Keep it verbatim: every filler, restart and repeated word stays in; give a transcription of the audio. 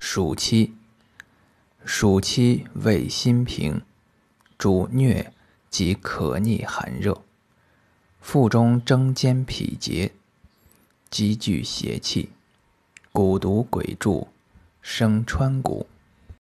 暑期，暑期味辛平，主疟及可逆寒热，腹中争坚脾结，积聚邪气，蛊毒鬼注，生川谷。